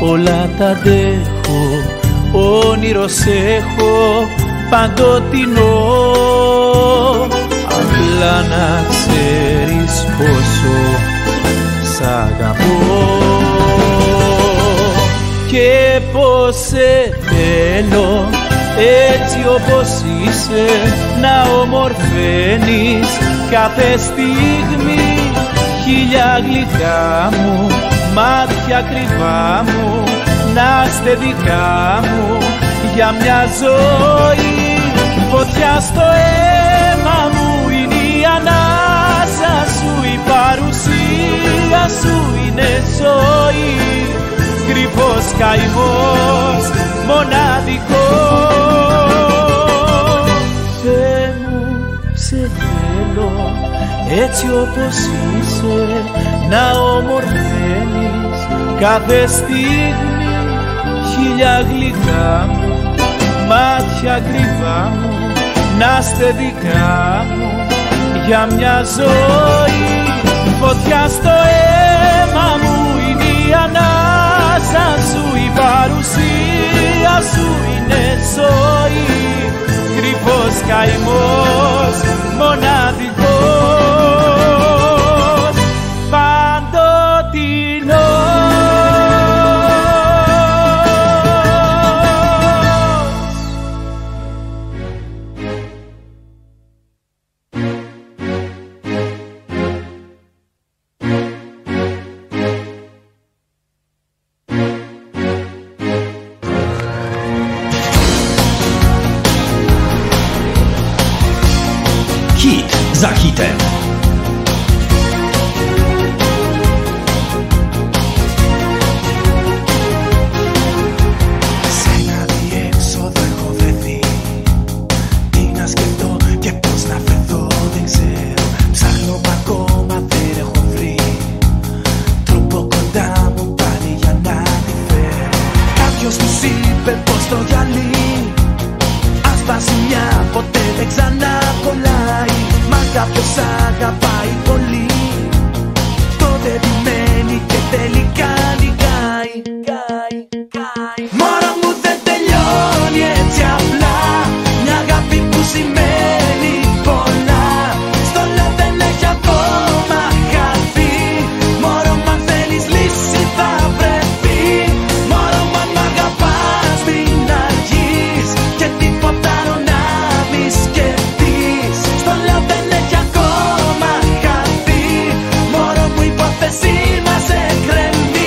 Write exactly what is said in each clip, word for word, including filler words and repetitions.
όλα τα αντέχω, όνειρος έχω παντοτινό. Απλά να ξέρεις πόσο σ' αγαπώ και πως σε θέλω έτσι όπως είσαι, να ομορφαίνεις κάθε στιγμή. Χίλια γλυκά μου, μάτια κρυβά μου, να είστε δικά μου για μια ζωή. Φωτιά στο αίμα μου είναι η ανάσα σου, η παρουσία σου είναι ζωή. Κρυφός καημός, μοναδικός. Θεέ μου, σε θέλω έτσι όπως είσαι, να ομορφαίνεις κάθε στιγμή. Χίλια γλυκά μου, μάτια κρυβά μου, να είστε δικά μου για μια ζωή. Φωτιά στο αίμα μου είναι η ανάσα σου, η παρουσία σου είναι ζωή. Κρυφός καημός, μοναδικός, παντοτινός. Za hitem. Σε ένα διέξοδο έχω βρεθεί. Τι να σκεφτώ και πώς να φερθώ δεν ξέρω. Ψάχνω μα ακόμα δεν έχω βρει τρόπο κοντά μου πάλι για να τη φέρω. Κάποιος μου είπε πως το γυαλί αν σπάσει μια ποτέ δεν ξανακολλάει. Μα κάποιος αγαπάει πολύ, τότε επιμένει και τελικά νικάει. Μωρό μου δεν τελειώνει έτσι απλά, μια αγάπη που σημαίνει πολλά. Στο λέω δεν έχει ακόμα χαθεί. Μωρό μου αν θέλεις λύση θα πρέπει. Μωρό μου αν μ' αγαπάς μην αργείς και τίποτα άλλο να μη σκεφτείς. Στο λέω δεν έχει ακόμα χαθεί. Μωρό μου η υπόθεση μας εκκρεμεί.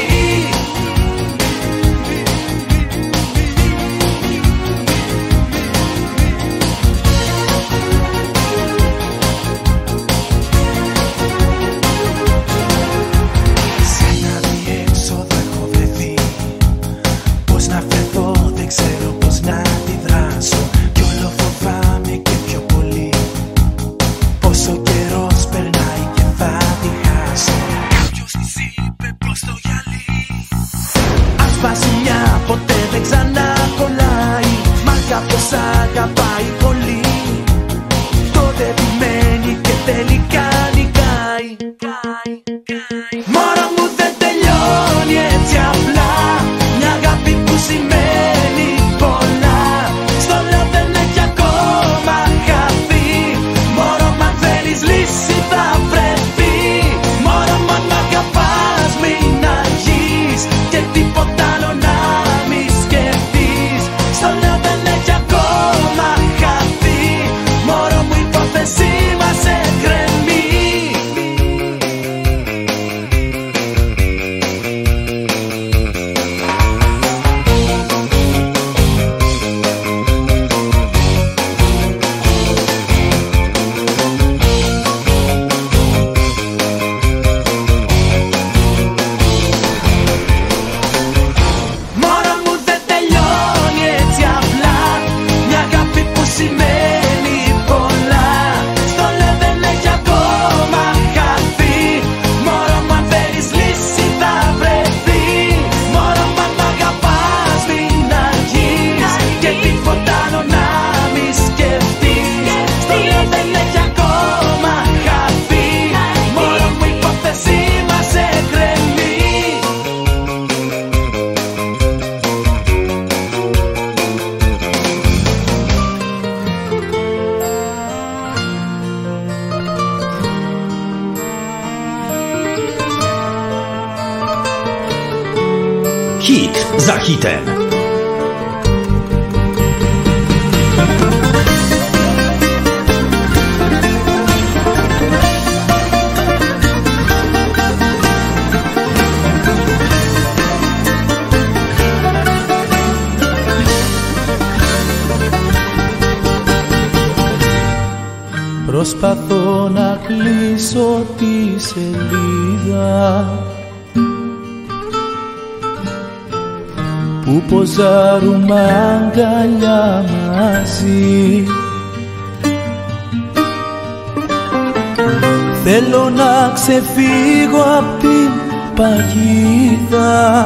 Σε ένα διέξοδο έχω βρεθεί. Πώς να φερθώ δεν ξέρω πώς να αντιδράσω. Κι όλο φοβάμαι και πιο πολύ πόσο καιρός περνάει και θα τη χάσω. Κάποιος της είπε πως το γυαλί αν σπάσει μια ποτέ δεν ξανακολλάει. Μα κάποιος αγαπάει πολύ, τότε επιμένει και τελικά νικάει. Μωρό μου δεν τελειώνει έτσι απλά, μια αγάπη που σημαίνει πολλά. Στο λέω δεν έχει ακόμα χαθεί. Μωρό μου αν θέλεις λύση θα βρεθεί. Μωρό μου αν μ' αγαπάς μην αργείς και τίποτα άλλο να μη σκεφτείς. Στο λέω δεν έχει ακόμα Hit za hitem. Προσπαθώ να κλείσω τη σελίδα που ποζάρουμε αγκαλιά μαζί. Θέλω να ξεφύγω απ' την παγίδα,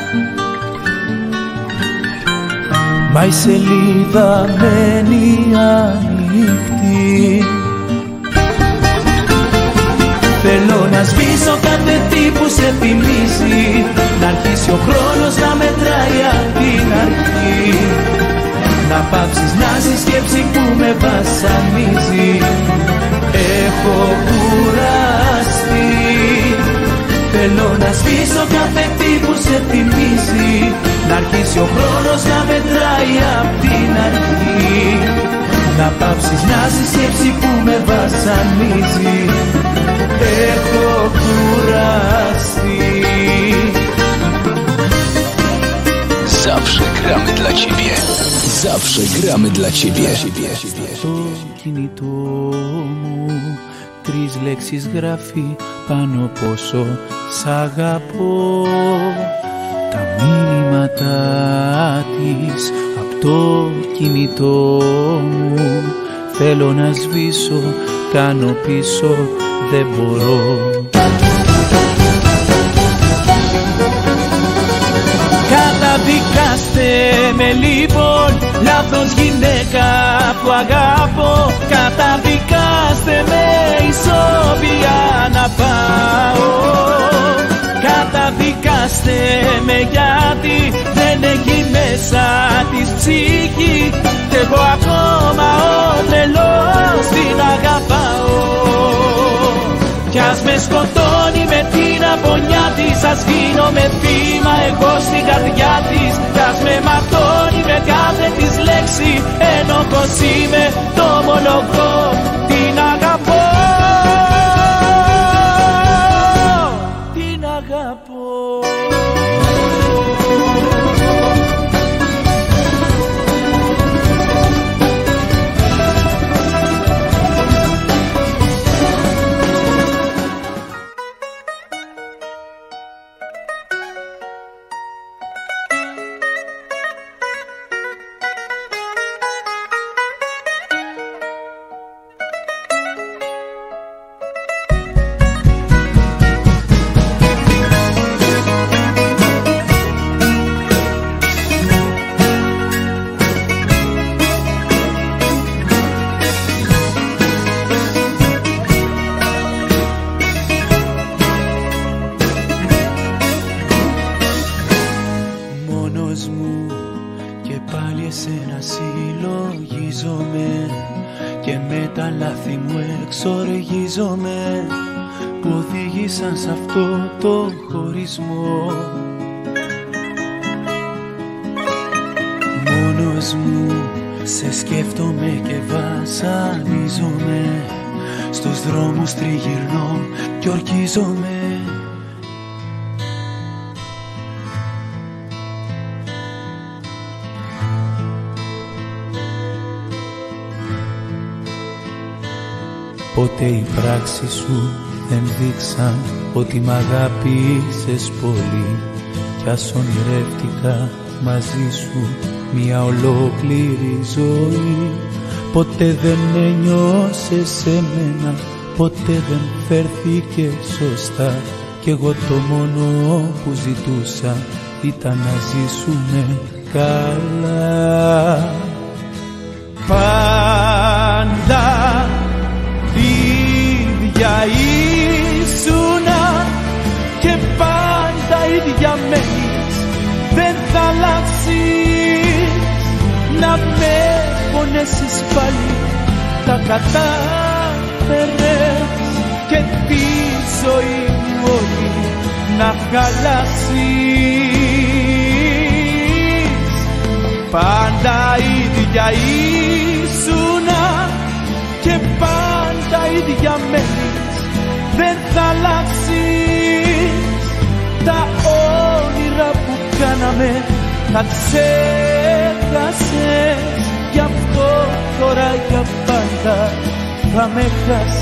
μα η σελίδα μένει ανοιχτή. Θέλω να σβήσω κάθε τι που σε θυμίζει, να αρχίσει ο χρόνος να μετράει απ' την αρχή, να πάψεις να ζεις σκέψη που με βασανίζει. Έχω κουραστεί. Θέλω να σβήσω κάθε τι που σε θυμίζει, να αρχίσει ο χρόνος να μετράει απ' την αρχή, να πάψεις να ζεις σκέψη που με βασανίζει. Έχω κουραστεί. Zawsze gramy dla ciebie. Zawsze gramy dla ciebie. Στο κινητό μου τρεις λέξεις γράφει πάνω πόσο σ' αγαπώ. Τα μήνυματά της απ' το κινητό μου θέλω να σβήσω, κάνω πίσω, δεν μπορώ. Καταδικάστε με λοιπόν, λάθος γυναίκα που αγαπώ. Καταδικάστε με ισόβια να πάω. Καταδικάστε με γιατί δεν έχει μέσα της ψυχή, κι εγώ ακόμα ο τρελός την αγαπάω. Κι ας με σκοτώνει με την απονιά της, ας γίνομαι θύμα εγώ στην καρδιά της. Κι ας με ματώνει με κάθε της λέξη, ενώ πως είμαι το ομολογώ, την αγαπώ, την αγαπώ. Που οδήγησαν σ' αυτό το χωρισμό. Μόνος μου σε σκέφτομαι και βασανίζομαι, στους δρόμους τριγυρνώ κι ορκίζομαι. Ποτέ οι πράξεις σου δεν δείξαν ότι μ' αγάπησες πολύ, κι ας ονειρεύτηκα μαζί σου μια ολόκληρη ζωή. Ποτέ δεν ένιωσες σε μένα, ποτέ δεν φέρθηκε σωστά, κι εγώ το μόνο που ζητούσα ήταν να ζήσουμε καλά. Πάντα ίδια ήσουνα και πάντα ίδια μένεις, δεν θα αλλάξεις. Να με πονέσεις πάλι, τα κατάφερες και τη ζωή μου όλη να χαλάσεις. Πάντα ίδια ήσουνα και πάντα ίδια μένεις, δεν θα αλλάξεις. Τα όνειρα που κάναμε τα ξέχασες, γι' αυτό τώρα για πάντα θα με χάσεις.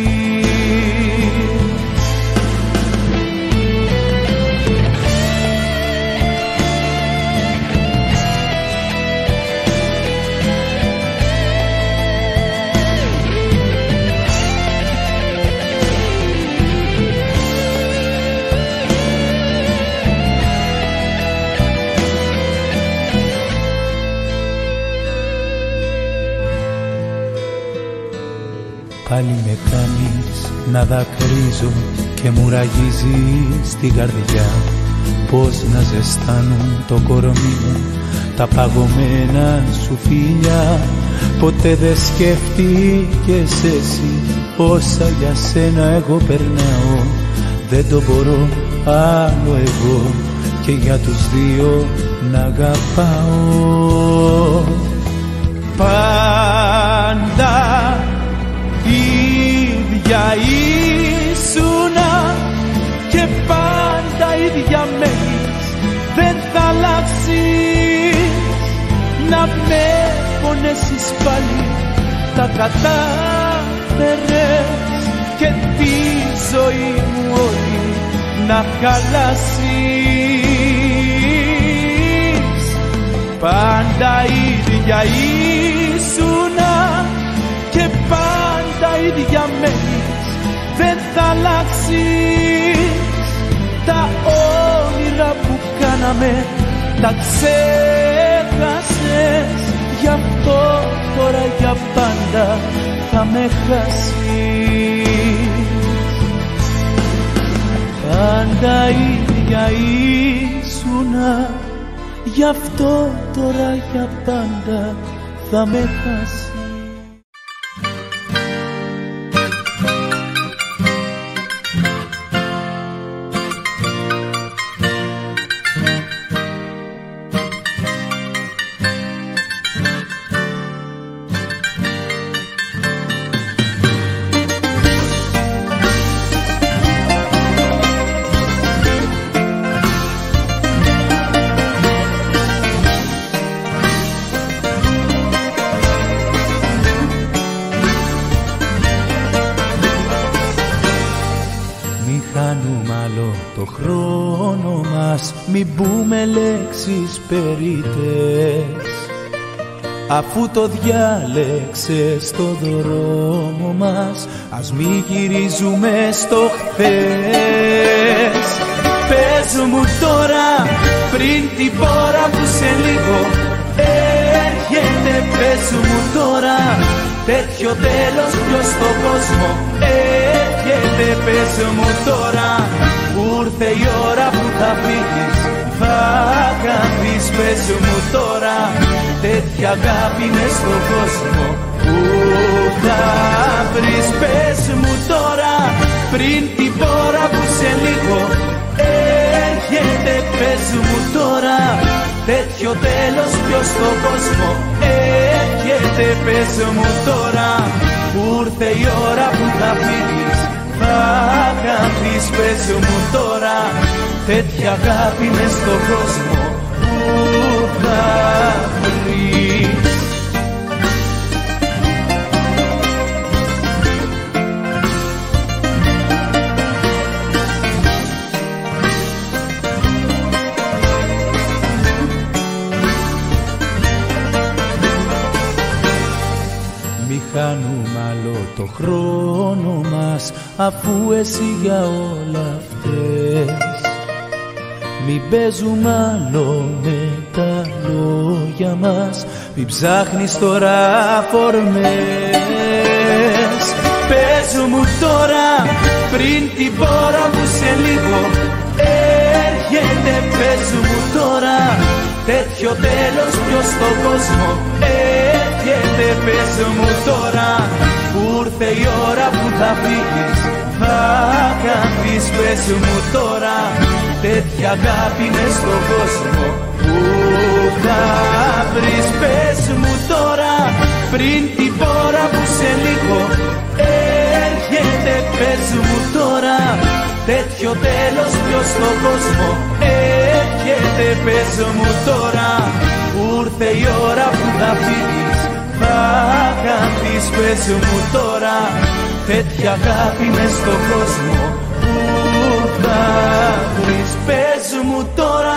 Πάλι με κάνεις να δακρύζω και μου ραγίζεις την καρδιά. Πώς να ζεστάνουν το κορμί μου τα παγωμένα σου φιλιά. Ποτέ δεν σκέφτηκες εσύ όσα για σένα εγώ περνάω. Δεν το μπορώ άλλο εγώ και για τους δύο να αγαπάω. Πάντα ίδια ήσουνα και πάντα ίδια μένεις, δεν θα αλλάξεις. Να με πονέσεις πάλι τα κατάφερες και τη ζωή μου όλη να χαλάσεις. Πάντα ίδια ήσουνα και πάντα ίδια μένεις, δεν θα αλλάξεις. Τα όνειρα που κάναμε τα ξέχασες, γι' αυτό τώρα για πάντα θα με χάσεις. Πάντα ίδια ήσουνα, γι' αυτό τώρα για πάντα θα με χάσεις. Μην πούμε λέξεις περίτες, αφού το διάλεξες το δρόμο μας. Ας μη γυρίζουμε στο χθες. Πες μου τώρα πριν την πόρα που σε λίγο έρχεται. Πες μου τώρα τέτοιο τέλος ποιος στον κόσμο έρχεται. Πες μου τώρα που ήρθε η ώρα που θα φύγεις, θα χαθείς. Πες μου τώρα τέτοια αγάπη μες στον κόσμο που θα βρεις. Πες μου τώρα πριν την πόρα που σε λίγο έρχεται. Πες μου τώρα τέτοιο τέλος ποιος στον κόσμο έρχεται. Πες μου τώρα που ήρθε η ώρα που θα φύγεις, θα χαθείς. Πες μου τώρα τέτοια αγάπη μες στον κόσμο που θα βρεις. Μη χάνουμε άλλο το χρόνο μας, αφού εσύ για όλα αυτές. Μην παίζουμε άλλο με τα λόγια μας, μην ψάχνεις τώρα φορμές. Πες μου τώρα πριν την πόρα που σε λίγο έρχεται. Πες μου τώρα τέτοιο τέλος ποιος στον κόσμο έρχεται. Πες μου τώρα που ήρθε η ώρα που θα φύγεις, θα χαθείς. Πες μου τώρα τέτοια αγάπη μες στον κόσμο Πού θα βρεις, πες μου τώρα, πριν την πόρα που σε λίγο έρχεται. Πες μου τώρα, τέτοιο τέλος ποιος στον κόσμο έρχεται. Πες μου τώρα, που ήρθε η ώρα που θα φύγεις, θα χαθείς. Πες μου τώρα, τέτοια αγάπη μες στον κόσμο που θα βρεις. Πες μου τώρα.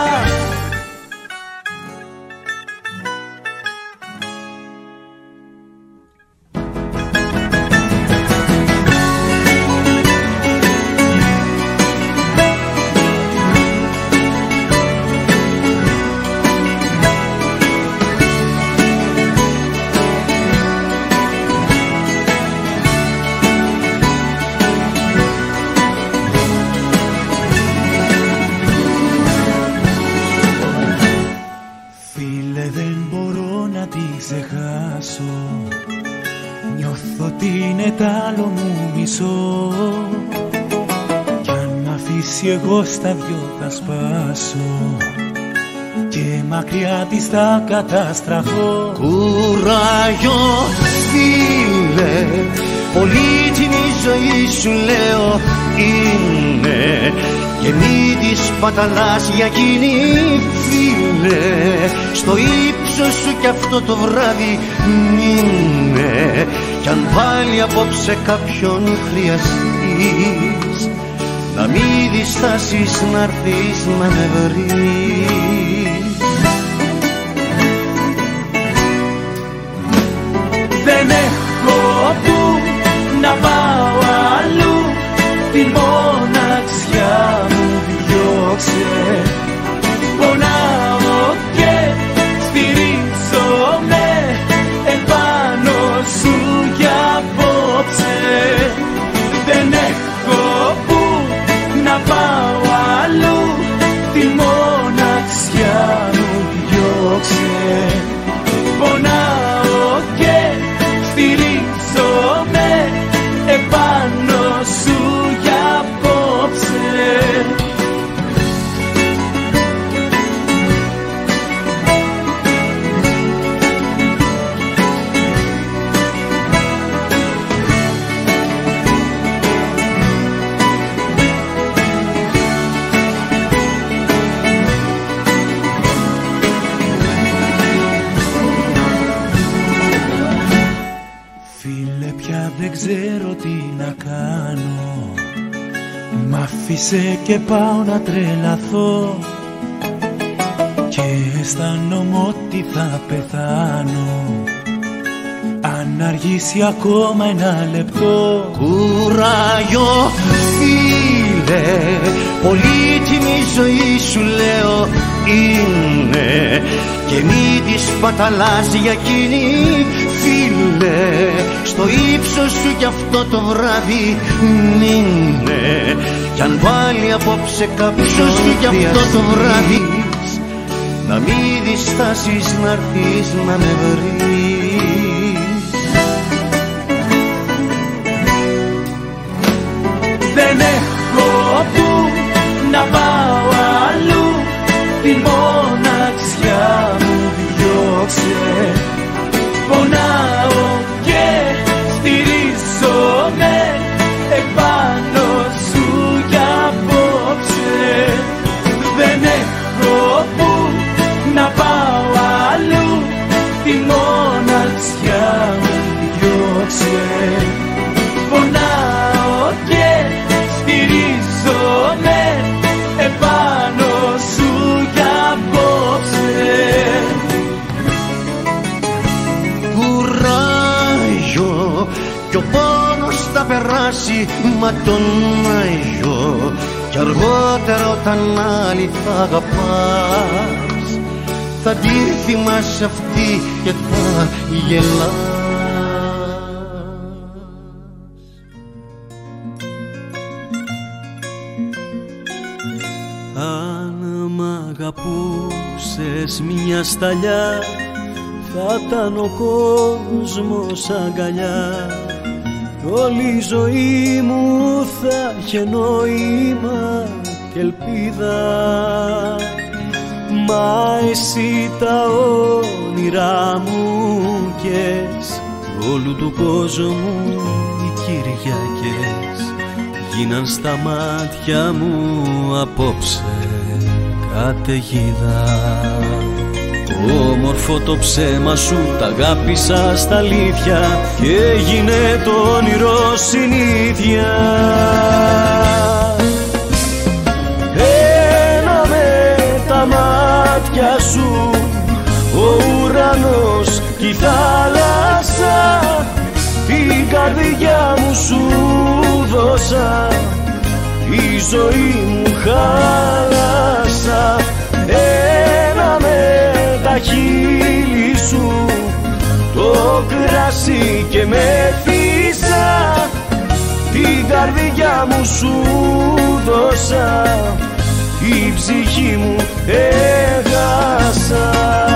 Νιώθω ότι είναι τ' άλλο μου μισό, κι αν μ' αφήσει εγώ στα δυο θα σπάσω και μακριά της θα καταστραφώ. Κουράγιο φίλε, πολύτιμη ζωή σου λέω είναι, και μη τη παταλάς για εκείνη φίλε. Στο ύψος σου κι αυτό το βράδυ μείνε, κι αν πάλι απόψε κάποιον χρειαστείς, να μη διστάσεις να'ρθείς να με βρεις. Δεν έχω που να πάω αλλού, την μοναξιά μου διώξε. Πονάω και στηρίζομαι επάνω σου για απόψε. Δεν έχω που να πάω αλλού, την μοναξιά μου διώξε. Πονάω και στηρίζομαι επάνω σου για απόψε. Δεν ξέρω τι να κάνω, μ' άφησε και πάω να τρελαθώ, και αισθάνομαι ότι θα πεθάνω αν αργήσει ακόμα ένα λεπτό. Κουράγιο φίλε, πολύτιμη ζωή σου λέω είναι, και μη τη παταλάς για εκείνη φίλε. Στο ύψος σου κι αυτό το βράδυ μείνε, κι αν πάλι απόψε κάποιος σου κι αυτό το βράδυ, να μη διστάσεις να'ρθείς να με βρεις. Δεν έχω που να πάω αλλού, την μοναξιά μου διώξε. Πονάω και στηρίζομαι επάνω σου για απόψε. Δεν έχω που να πάω αλλού, τη μοναξιά μου διώξε. Πονάω και στηρίζομαι επάνω σου για απόψε. Κουράγιο, κι ο πόνος θα περάσει μα τον Άγιο, κι αργότερα όταν άλλη θα αγαπάς, θα τη θυμάσαι αυτή και θα γελάς. Αν μ' αγαπούσες μια σταλιά, θα ήταν ο κόσμος αγκαλιά, όλη η ζωή μου θα είχε νόημα και ελπίδα. Μ' Μα εσύ τα όνειρά μου κες, όλου του κόσμου οι Κυριακές γίναν στα μάτια μου απόψε καταιγίδα. Όμορφο το ψέμα σου, τ' αγάπησα στα αλήθεια και έγινε το όνειρο συνήθεια. Ένα με τα μάτια σου, ο ουρανός κι η θάλασσα, την καρδιά μου σου δώσα, η ζωή μου χάλασα. Ένα με τα χείλη σου, το κρασί και με φύσα, την καρδιά μου σου δώσα, η ψυχή μου έχασα.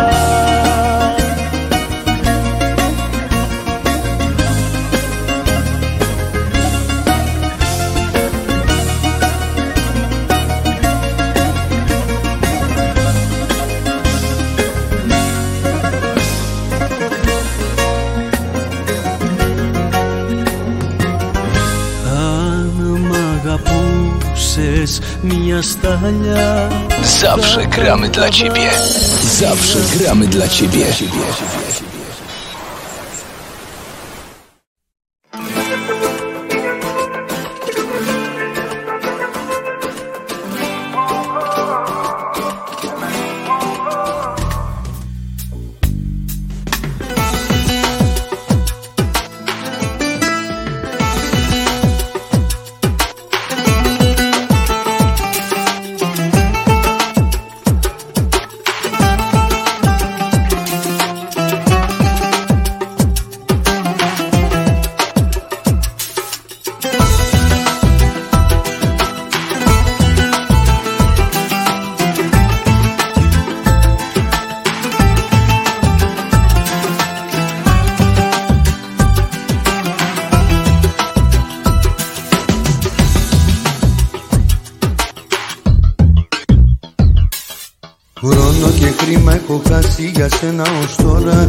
Μια σταλιά. Zawsze gramy dla ciebie. Zawsze gramy dla ciebie. Χρόνο και χρήμα έχω χάσει για σένα ως τώρα.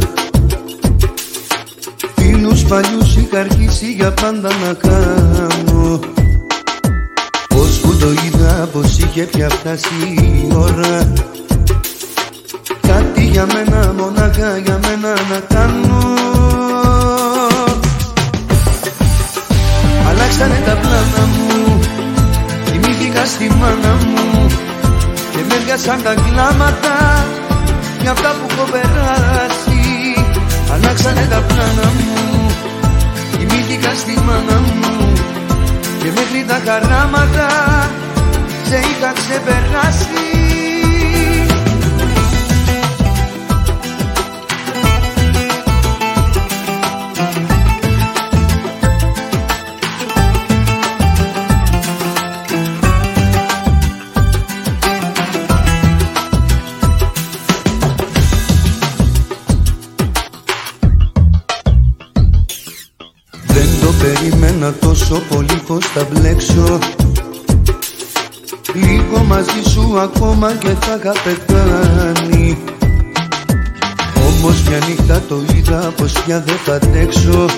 Φίλους παλιούς είχα αρχίσει για πάντα να κάνω. Πώς που το είδα πως είχε πια φτάσει η ώρα, κάτι για μένα, μονάχα για μένα να κάνω. Αλλάξανε τα πλάνα μου, κοιμήθηκα στη μάνα μου και με έβγασαν τα κλάματα για αυτά που έχω περάσει. Αλλάξανε τα πλάνα μου, κοιμήθηκα στη μάνα μου και μέχρι τα χαράματα σε είχα ξεπεράσει. Περίμενα τόσο πολύ πως θα μπλέξω, λίγο μαζί σου ακόμα και θα είχα πεθάνει. Όμως μια νύχτα το είδα πως πια δεν θα αντέξω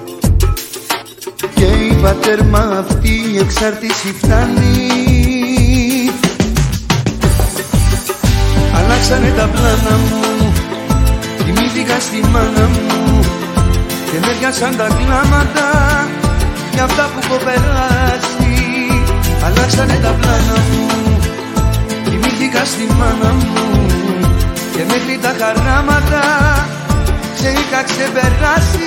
και είπα τέρμα, αυτή η εξάρτηση φτάνει. Αλλάξανε τα πλάνα μου, κοιμήθηκα στη μάνα μου και με έβγασαν τα κλάματα για αυτά που έχω περάσει. Αλλάξανε τα πλάνα μου, κοιμήθηκα στη μάνα μου και μέχρι τα χαράματα σε είχα ξεπεράσει.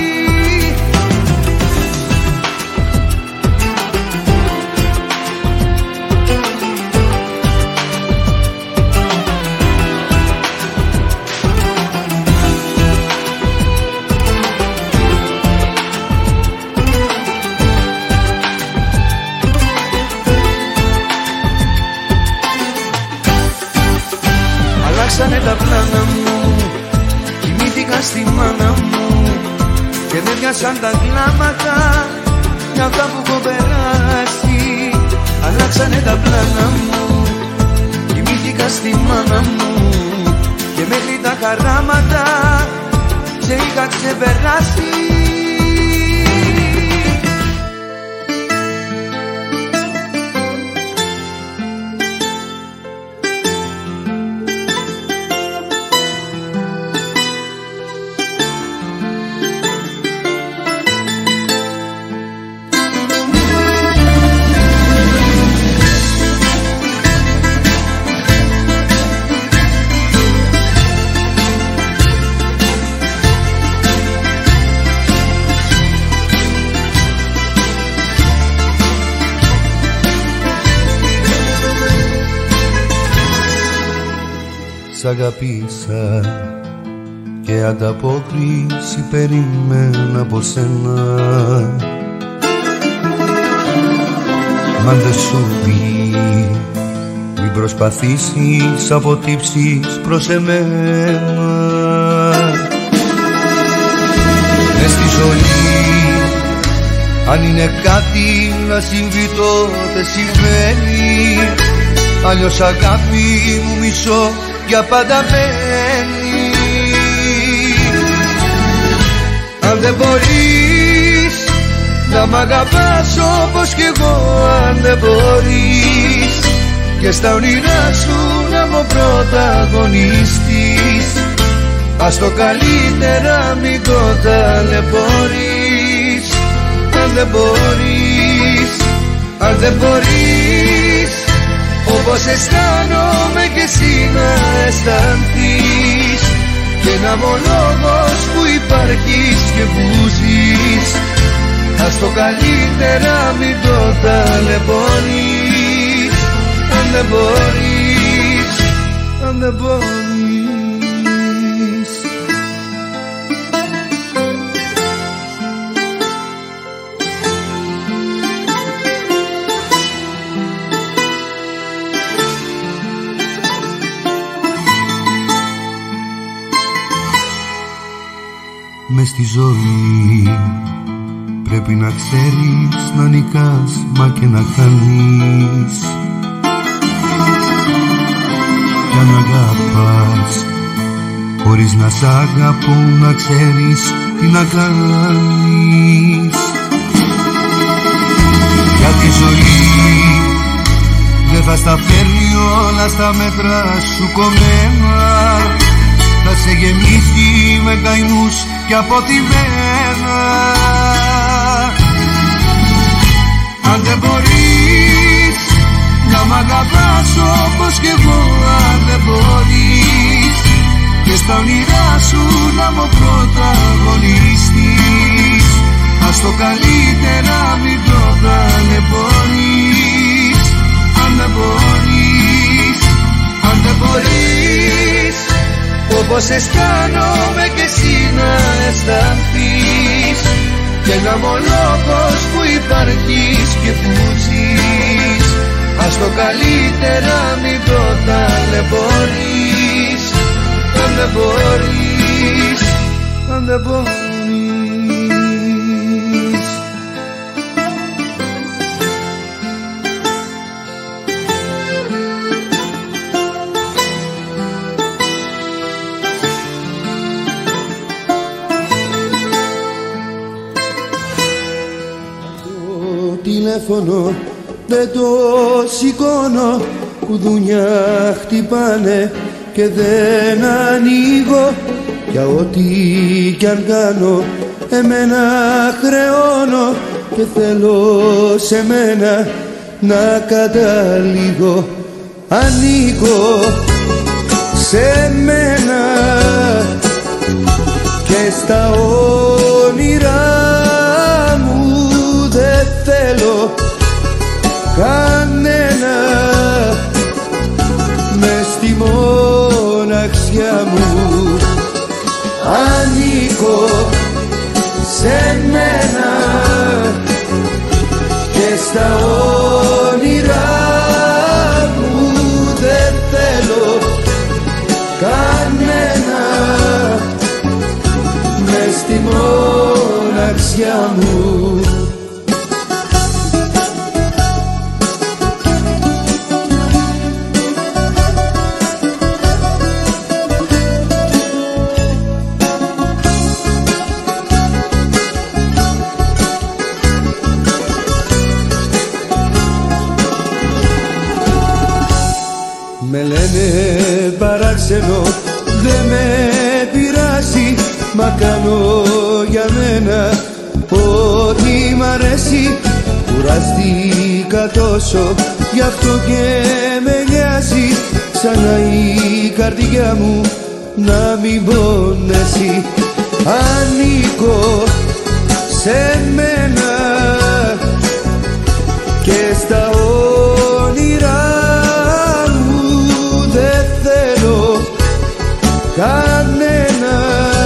Αλλάξανε τα πλάνα μου, κοιμήθηκα στη μάνα μου και με έβγασαν τα κλάματα για αυτά που έχω περάσει. Αλλάξανε τα πλάνα μου, κοιμήθηκα θυμήθηκα στη μάνα μου και μέχρι τα χαράματα σε είχα ξεπεράσει. Σ' αγαπήσα και ανταπόκριση περίμενα από σένα. Μα δεν σου πει μην προσπαθήσεις αποτύψεις προς εμένα. Μες στη ζωή αν είναι κάτι να συμβεί τότε συμβαίνει, αλλιώς αγάπη μου μισώ για πάντα μένει. Αν δεν μπορείς να μ' αγαπάς όπως κι εγώ, αν δεν μπορείς και στα όνειρά σου να μου πρωταγωνιστείς, ας το καλύτερα μην το ταλαιπωρείς. Αν δεν μπορείς, αν δεν μπορείς όπως αισθάνομαι κι εσύ να αισθανθείς, και να μ' ο λόγος που υπάρχεις και που ζεις, ας το καλύτερα μην το ταλαιπωρείς. Αν δεν μπορείς, αν δεν μπορείς. Μες στη ζωή πρέπει να ξέρεις να νικάς μα και να χάνεις, κι αν αγαπάς χωρίς να σ' αγαπούν να ξέρεις τι να κάνεις. Για τη ζωή δεν θα στα φέρνει όλα στα μέτρα σου κομμένα, θα σε γεμίσει με καημούς και αποτιμένα. Αν δεν μπορείς να μ' αγαπάς όπως κι εγώ, αν δεν μπορείς και στα όνειρά σου να μου πρωταγωνιστείς, ας το καλύτερα μην το ταλαιπωρείς. Αν δεν μπορείς, αν δεν μπορείς όπως αισθάνομαι κι εσύ να αισθανθείς, και να μ' ο λόγος που υπάρχεις και που ζεις, ας το καλύτερα μην το ταλαιπωρείς. Αν δεν μπορείς, αν δεν μπορείς. Τηλέφωνο δεν το σηκώνω, κουδούνια χτυπάνε και δεν ανοίγω, για ό,τι κι αν κάνω εμένα χρεώνω, και θέλω σε μένα να καταλήγω. Ανοίγω σε μένα και στα όνειρά μου δεν θέλω κανένα, μες στη μοναξιά μου. Ανήκω σε μένα και στα όνειρά μου δεν θέλω κανένα, μες στη μοναξιά μου. Με λένε παράξενο, δε με πειράζει, μα κάνω για μένα ό,τι μ' αρέσει. Κουραστήκα τόσο, γι' αυτό και με νοιάζει, ξανά η καρδιά μου να μην πονέσει. Ανήκω σε μένα και στα όνειρά μου δεν θέλω κανένα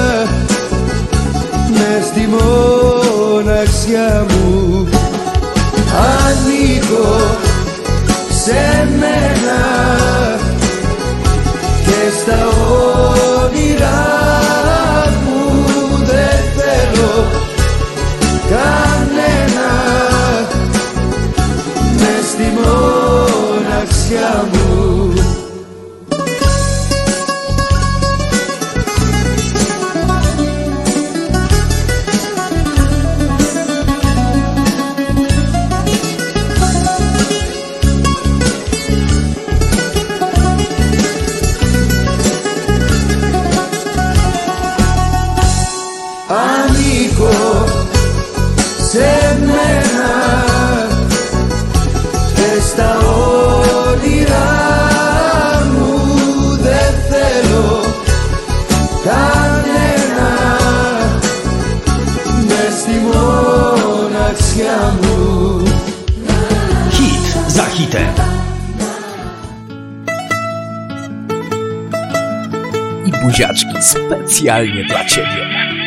μες στη μοναξιά μου. Ανήκω σε μένα και στα όνειρά μου δεν θέλω κανένα μες στη μοναξιά μου. Ανήκω σε μένα και στα όνειρά μου δεν θέλω κανένα μες στη μοναξιά μου. Hit za hitem. I buziaczki specjalnie dla Ciebie.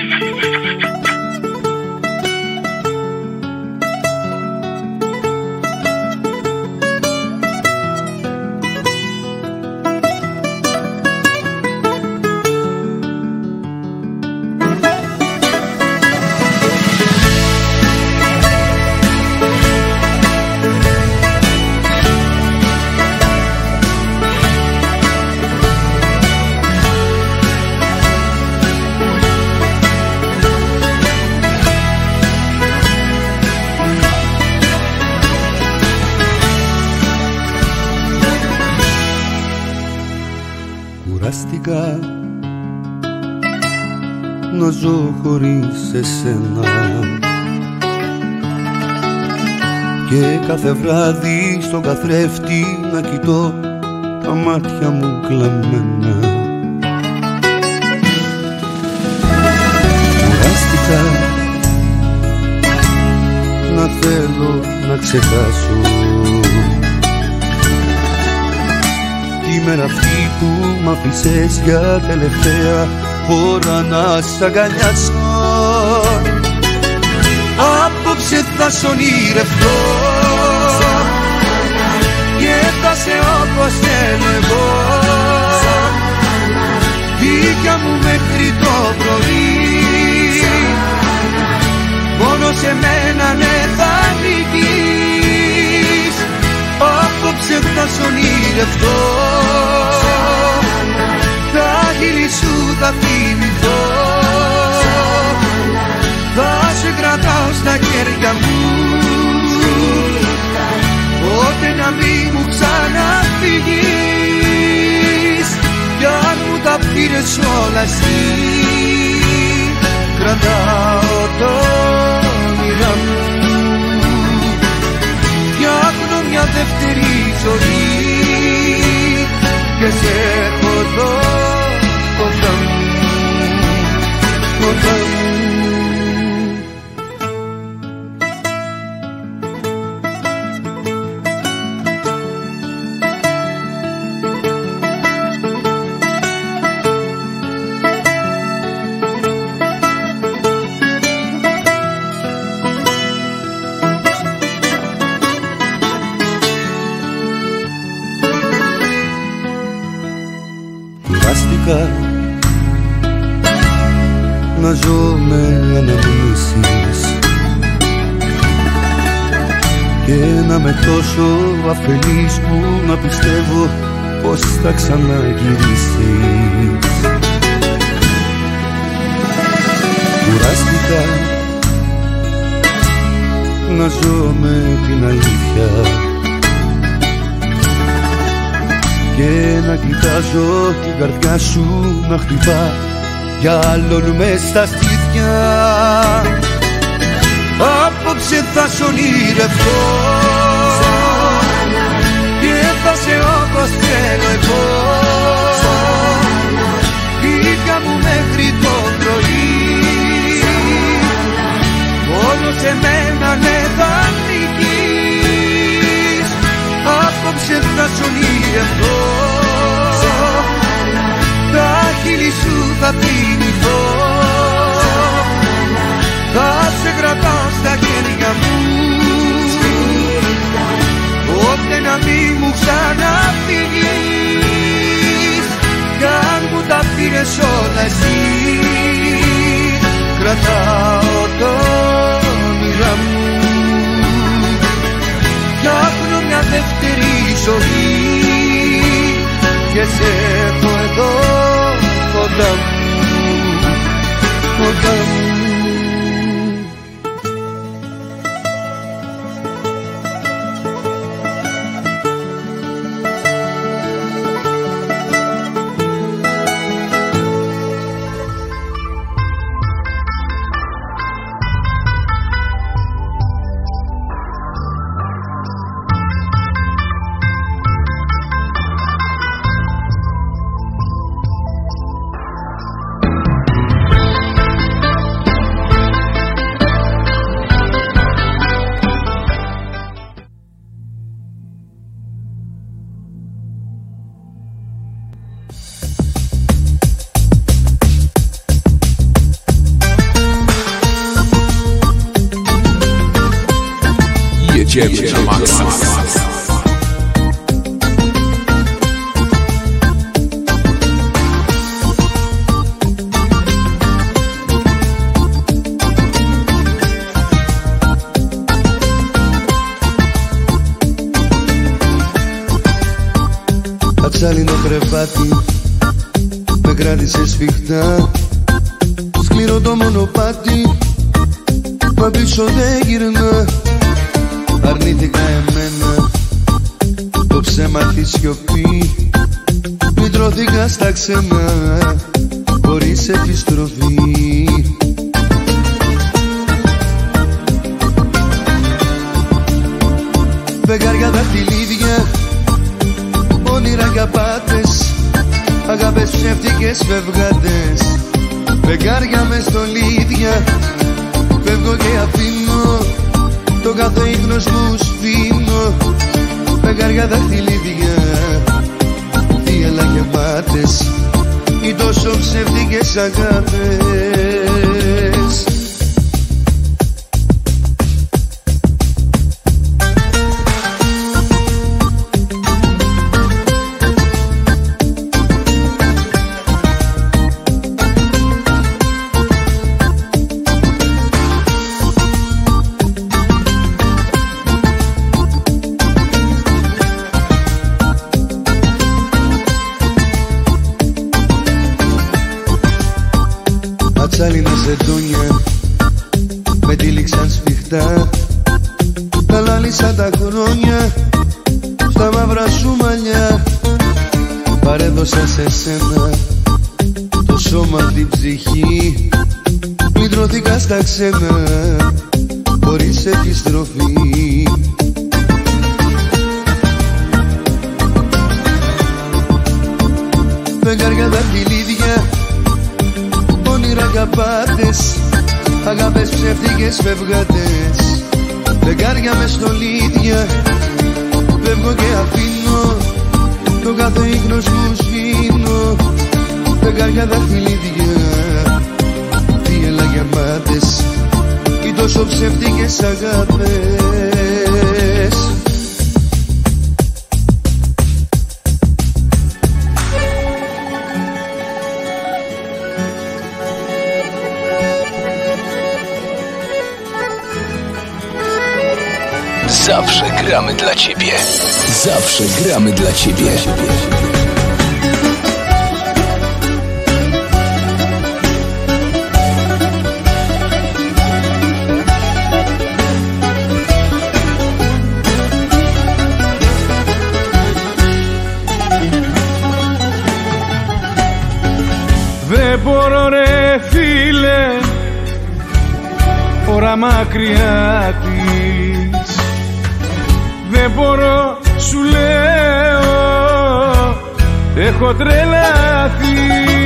Κουράστηκα να ζω χωρίς εσένα και κάθε βράδυ στον καθρέφτη να κοιτώ τα μάτια μου κλαμμένα. Κουράστηκα να θέλω να ξεχάσω τη μέρα αυτή που μ' άφησες για τελευταία φορά να σ' αγκαλιάσω. Απόψε θα σ' ονειρευτώ και θα σε όπως θέλω εγώ, δίκια μου μέχρι το πρωί. Μόνο σε μένα ναι θα ανήκεις. Απόψε θα σ' ονειρευτώ, τα χείλη σου θα θυμηθώ, θα σε κρατάω στα χέρια μου, πότε να μην μου ξαναφύγεις. Κι αν μου τα πήρες όλα εσύ, κρατάω το όνειρά μου, φτιάχνω μια δεύτερη ζωή και σε έχω εδώ κοντά μου, κοντά μου. Να ζω με αναμνήσεις και να με τόσο αφελής που να πιστεύω πως θα ξαναγυρίσεις. Κουράστηκα να ζω με την αλήθεια και να κοιτάζω την καρδιά σου να χτυπά για άλλον μες στα στήθια. Απόψε θα σ' ονειρευτώ και θα σε όπως θέλω εγώ. Βγήκα μου μέχρι το πρωί, μόνο σε μένα ναι θα νικείς. Απόψε θα σ' ονειρευτώ, τα χείλη σου θα θυμηθώ, θα σε κρατάω στα χέρια μου, όποτε να μη μου ξαναφύγεις. Κι αν μου τα πήρες όλα εσύ, κρατάω το όνειρα μου, φτιάχνω μια δεύτερη ζωή και σε έχω εδώ κοντά μου, κοντά μου. Jedziemy na maksa. Ατσάλινο κρεβάτι με κράτησε σφιχτά, σκληρό το μονοπάτι, μα πίσω δεν γυρνά. Αρνήθηκα εμένα το ψέμα τη σιωπή, πλητρώθηκα στα ξένα χωρίς επιστροφή. Φεγγάρια δαχτυλίδια, όνειρα για πάτες, αγάπες ψεύτικες φευγάτες. Φεγγάρια με στολίδια, φεύγω και αφήνω, το κάθε ίχνος μου σβήνω. Φεγγάρια δαχτυλίδια, θύελα γεμάτες, οι τόσο ψεύτικες αγάπες. Ατσάλινα ζεντόνια με τύλιξαν σφιχτά, τα λάλησα τα χρόνια στα μαύρα σου μαλλιά. Παρέδωσα σε σένα το σώμα, την ψυχή, πλητρώθηκα στα ξένα χωρίς επιστροφή. Φεγγάρια δαχτυλίδια, όνειρα καπάτες, αγάπες ψεύτικες φευγάτες. Φεγγάρια με στολίδια, φεύγω και αφήνω, το κάθε ίχνος μου σβήνω. Φεγγάρια δαχτυλίδια, θύελα γεμάτες, οι τόσο ψεύτικες αγάπες. Zawsze gramy dla Ciebie. Zawsze gramy dla Ciebie. Δεν μπορώ ρε φίλε, ώρα μακριά της. Δεν μπορώ σου λέω, έχω τρελαθεί.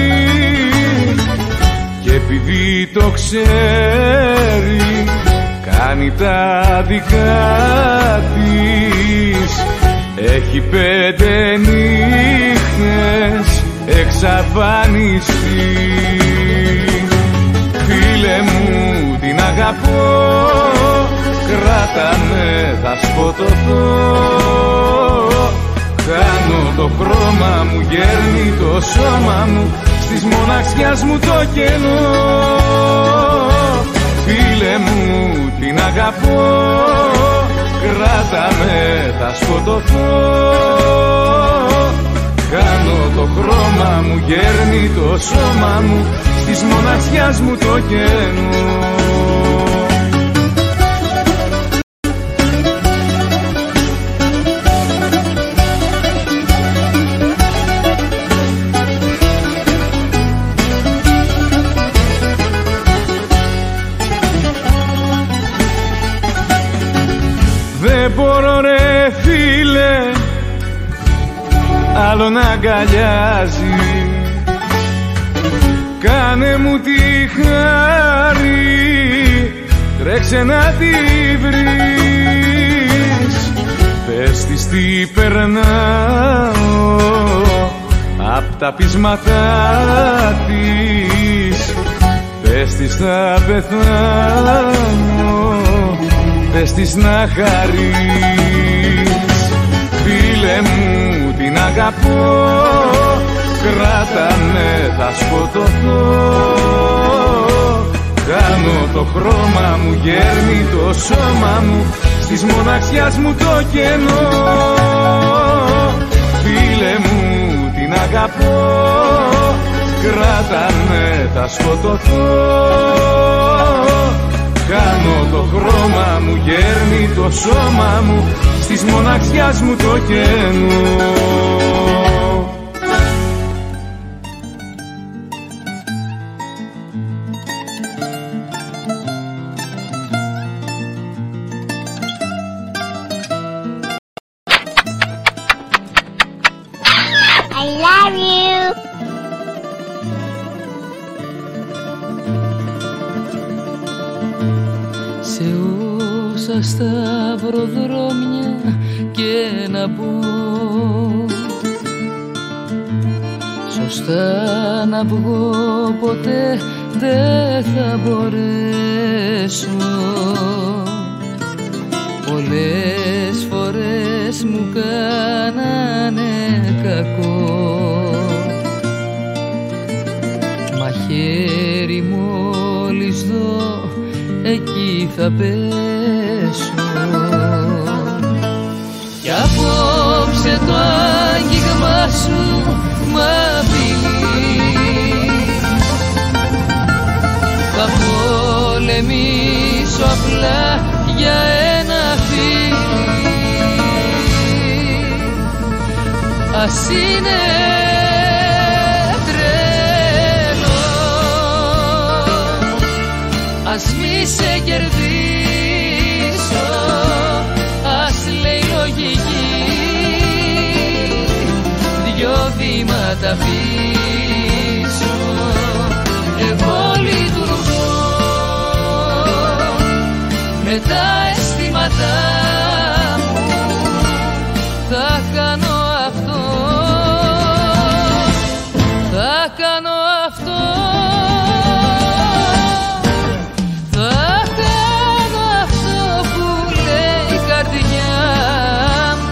Και επειδή το ξέρει, κάνει τα δικά της. Έχει πέντε νύχτες εξαφανιστεί. Φίλε μου την αγαπώ, κράτα με θα σκοτωθώ. Χάνω το χρώμα μου, γέρνει το σώμα μου, στις μοναξιάς μου το κενό. Φίλε μου την αγαπώ, κράτα με θα σκοτωθώ. Χάνω το χρώμα μου, γέρνει το σώμα μου, στις μοναξιάς μου το κενό. Δεν μπορώ ρε φίλε, άλλο να αγκαλιάζει. Κάνε μου τη χάρη, τρέξε να τη βρεις. Πες της τι περνάω απ' τα πείσματά της. Πες της θα πεθάνω, πες της να χαρείς. Φίλε μου την αγαπώ, κράτα με θα σκοτωθώ. Κάνω το χρώμα μου, γέρνει το σώμα μου, στις μοναξιάς μου το κενό. Φίλε μου την αγαπώ, κράτα με θα σκοτωθώ. Κάνω το χρώμα μου, γέρνει το σώμα μου, στις μοναξιάς μου το κενό. I love you. Σε όσα σταυροδρόμια και να μπω, σωστά να βγω ποτέ δεν θα μπορέσω. Πολλές φορές μου κάνανε κακό, μα χέρι μόλις δω εκεί θα πέσω. Κι απόψε το άγγιγμά σου μ' απειλεί. Θα πολεμήσω απλά για ένα φίλι. Ας είναι τρελό, ας μη σε κερδίσω, ας λέει λογική. Δυο βήματα πίσω εγώ λειτουργώ με τα αισθήματά μου. Θα κάνω αυτό, θα κάνω αυτό, θα κάνω αυτό που λέει η καρδιά μου.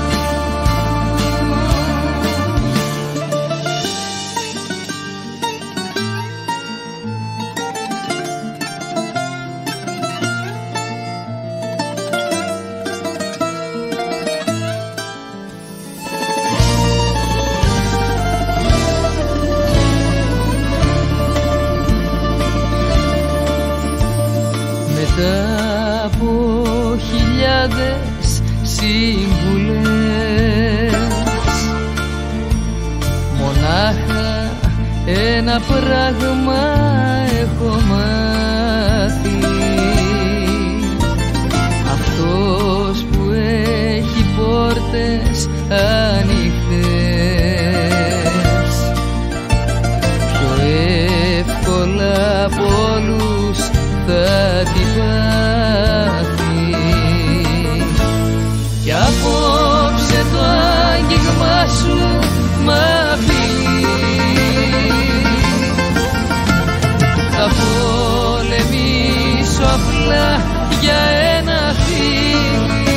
ένα πράγμα έχω μάθει, αυτός που έχει πόρτες ανοιχτές πιο εύκολα από όλους θα την πάθει. Κι απόψε το άγγιγμα σου μ' απειλεί, θα πολεμήσω απλά για ένα φίλι.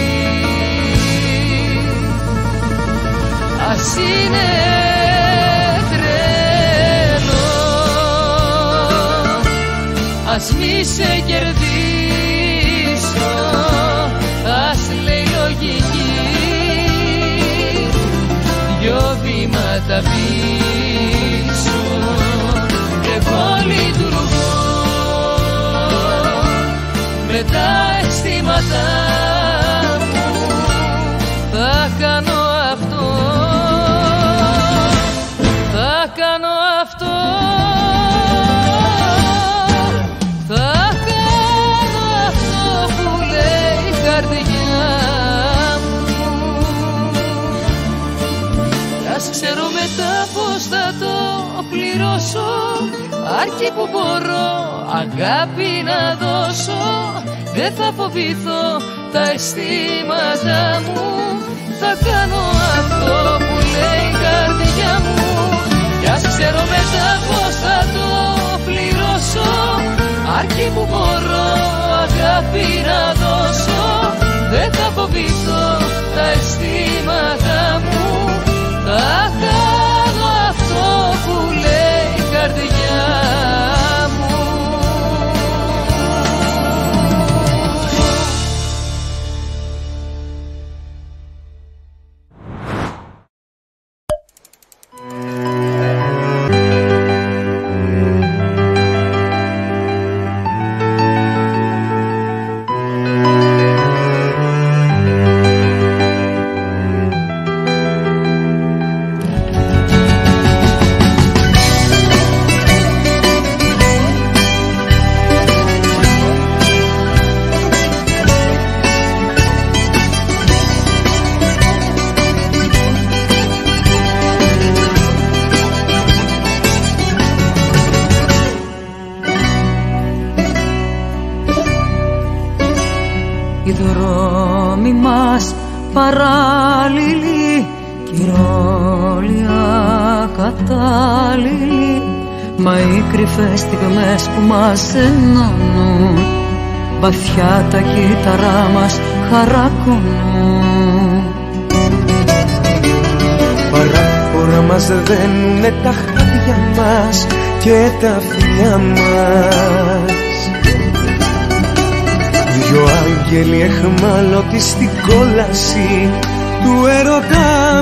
Ας είναι τρελό, ας μη σε κερδίσω, ας λέει λογική, δυο βήματα πίσω. Εγώ λειτουργώ με τα αισθήματά μου, θα κάνω αυτό, θα κάνω αυτό, θα κάνω αυτό που λέει η καρδιά μου. Ας ξέρω μετά πως θα το πληρώσω, αρκεί που μπορώ αγάπη να δώσω. Δεν θα φοβηθώ τα αισθήματά μου, θα κάνω αυτό που λέει η καρδιά μου. Κι ας ξέρω μετά πως θα το πληρώσω, αρκεί που μπορώ αγάπη να δώσω. Δεν θα φοβηθώ τα αισθήματά μου, θα κάνω αυτό που λέει η καρδιά μου. Οι δρόμοι μας παράλληλοι κι οι ρόλοι ακατάλληλοι, μα οι κρυφές στιγμές που μας ενώνουν βαθιά τα κύτταρά μας χαρακώνουν. Παράπονα μας δένουνε τα χάδια μας και τα φιλιά μας. Δυο άγγελοι εχμάλωτοι στην κόλαση του έρωτά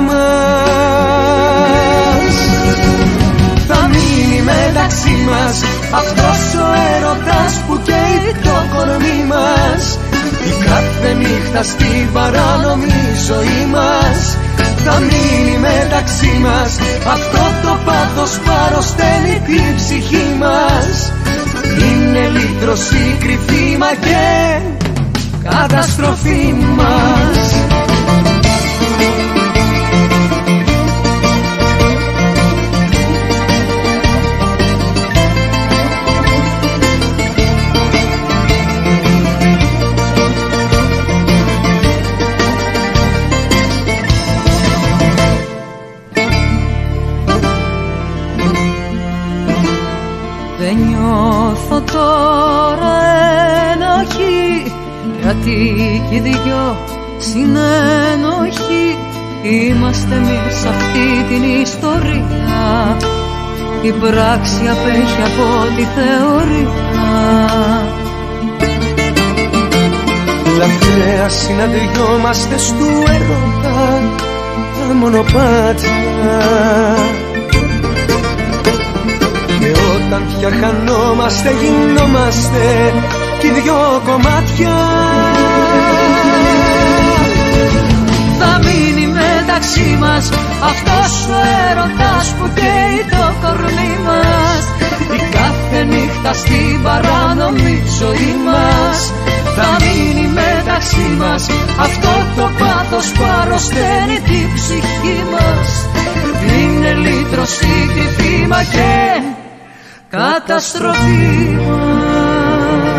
μας. Θα μείνει μεταξύ μας αυτός ο έρωτας που καίει το κορμί μας. Η κάθε νύχτα στην παράνομη ζωή μας. Θα μείνει μεταξύ μας αυτό το πάθος που αρρωσταίνει την ψυχή μας. Είναι λύτρωση κρυφή μα και καταστροφή μας. Δεν νιώθω τώρα ενοχή, γιατί κι οι δυο συνένοχοι είμαστε εμείς σε αυτή την ιστορία. Η πράξη απέχει από τη θεωρία. Λαθρέα συναντιόμαστε στου έρωτα τα μονοπάτια, και όταν πια χανόμαστε γινόμαστε κι δυο κομμάτια. Θα μείνει μεταξύ μας αυτός ο έρωτας που καίει το κορμί μας. στην παράνομη ζωή μας. Θα μείνει μεταξύ μας αυτό το πάθος που αρρωσταίνει την ψυχή μας. Είναι λύτρωση, κρυφή μα και καταστροφή μας.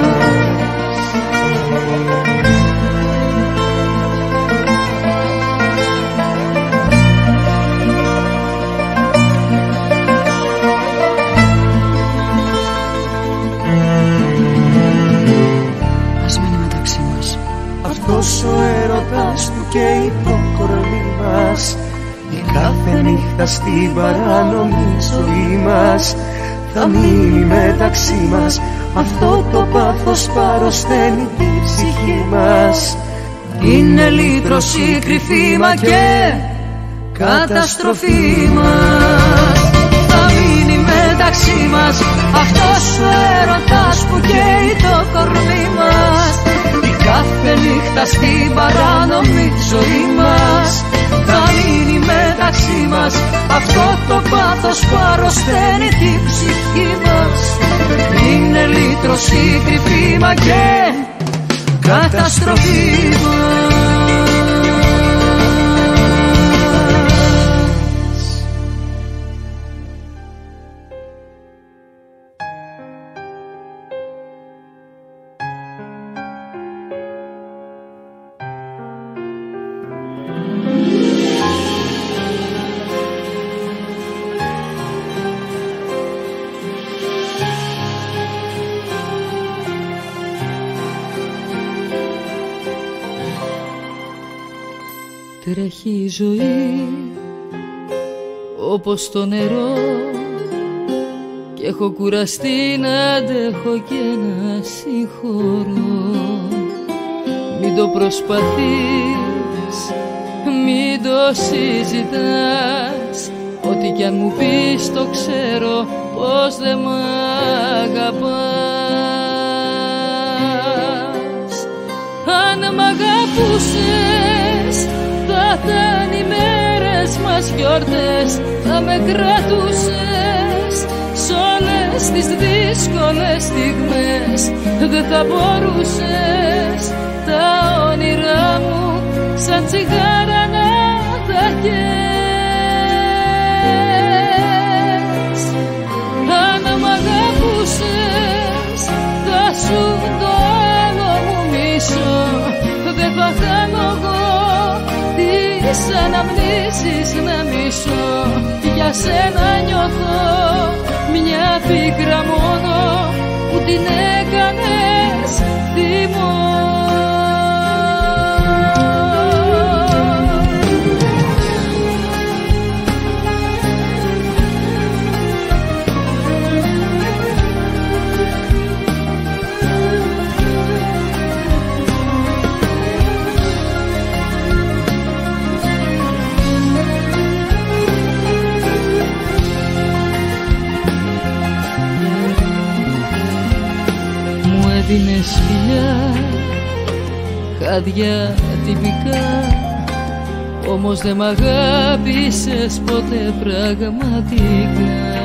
Αυτός ο έρωτας που καίει το κορμί μας, η κάθε νύχτα στην παράνομη ζωή μας. Θα μείνει μεταξύ μας αυτό το πάθος που αρρωσταίνει την ψυχή μας. Είναι λύτρωση, κρυφή μα και καταστροφή μας. Θα μείνει μεταξύ μας αυτός ο έρωτας που καίει το κορμί μας, κάθε νύχτα στην παράνομη ζωή μας. Θα μείνει μεταξύ μας αυτό το πάθος που αρρωσταίνει την ψυχή μας. Είναι λύτρωση, κρυφή μα και καταστροφή μας. Τρέχει η ζωή όπως το νερό και έχω κουραστεί να αντέχω και να συγχωρώ. Μην το προσπαθείς, μην το συζητάς, ό,τι κι αν μου πεις το ξέρω πως δεν μ' αγαπάς. Αν μ' αγαπούσες θα ήταν οι μέρες μας γιορτές, θα με κρατούσες σ' όλες τις δύσκολες στιγμές. Δεν θα μπορούσες τα όνειρά μου σαν τσιγάρα να τα καίες. Αν μ' αγαπούσες θα σου το άλλο μου μισό, δεν θα κάνω εγώ τις αναμνήσεις να μισώ. Για σένα νιώθω μια πίκρα μόνο που την έκανες θυμό. Έδινες φιλιά, χάδια τυπικά, όμως δεν μ' αγάπησες ποτέ πραγματικά.